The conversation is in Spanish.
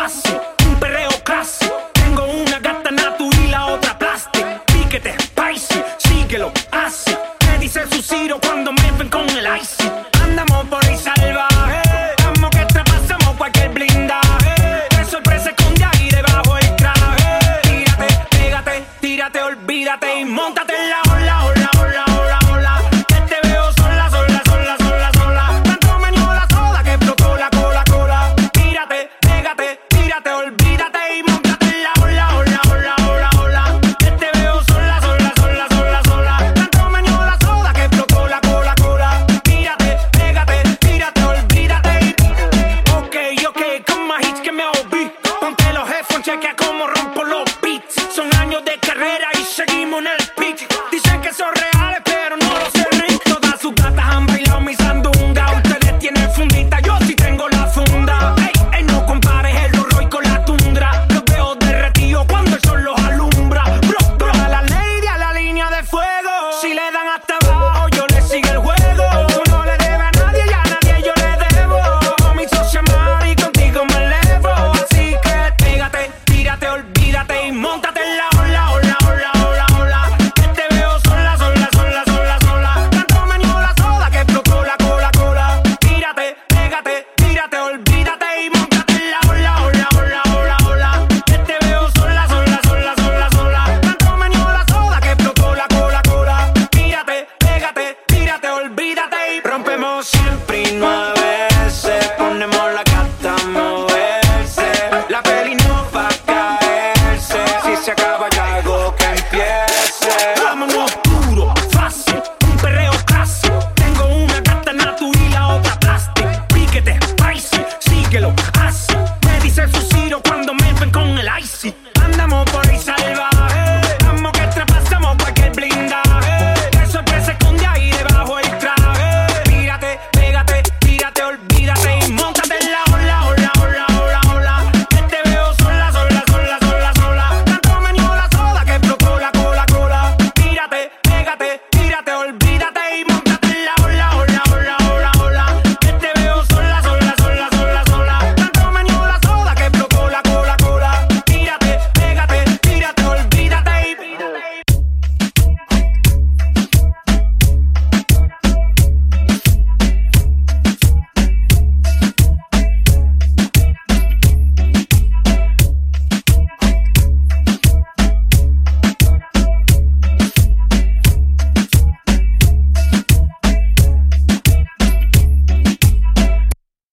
fácil, un perreo clásico. Tengo una gata natu y la otra plastic. Piquete, spicy, síguelo, así. Me dice su Ciro cuando me ven con el icy. Andamos por ahí salvaje, vamos que traspasamos cualquier blindaje. De sorpresa esconde ahí debajo el traje. Tírate, pégate, tírate, olvídate y móntate en la ola, ola, ola, ola, ola. Que te veo sola, sola, sola, sola, sola. Tanto me dio la soda que explotó la cola, cola. Tírate, pégate, tírate, olvídate y móntate en la ola, ola, ola, ola, ola. Que te veo sola, sola, sola, sola, sola. Tanto me dio la soda que explotó la cola, cola. Tírate, pégate, tírate, olvídate y... Ok, ok, con más hits que me oí. Ponte los headphones, chequea cómo rompo los beats. Son años de carrera y seguimos en el pitch. Dicen que son reales, pero no lo sé, Rick. Todas sus gatas han bailado mi sandunga. Ustedes tienen fundita, yo sí tengo la funda. Ey, ey, no compares el Roy con la tundra. Los veo derretidos cuando el sol los alumbra. Bro, bro, a la lady, a la línea de fuego. Si le dan hasta abajo, yo le sigo el juego. Tú no le debes a nadie y a nadie yo le debo. Mi socia Mari, contigo me elevo. Así que pégate, tírate, olvídate y móntate en la ola, ola, ola, ola, ola. Que te veo sola, sola, sola, sola, sola. Tanto me dio la soda que explotó la cola, cola. Tírate, pégate, tírate, olvídate y móntate en la ola, ola, ola, ola, ola. Que te veo sola, sola, sola, sola, sola. Tanto me dio la soda que explotó la cola, cola. Tírate, pégate, tírate, olvídate y rompemos siempre y 9 veces. Ponemos la gata a moverse. La peli no va a caerse. Si se acaba ya algo que empiece. Vámonos duro, fácil, un perreo clásico. Tengo una gata natu y la otra plastic. Piquete, spicy, síguelo, así. Me dice su Ciro cuando me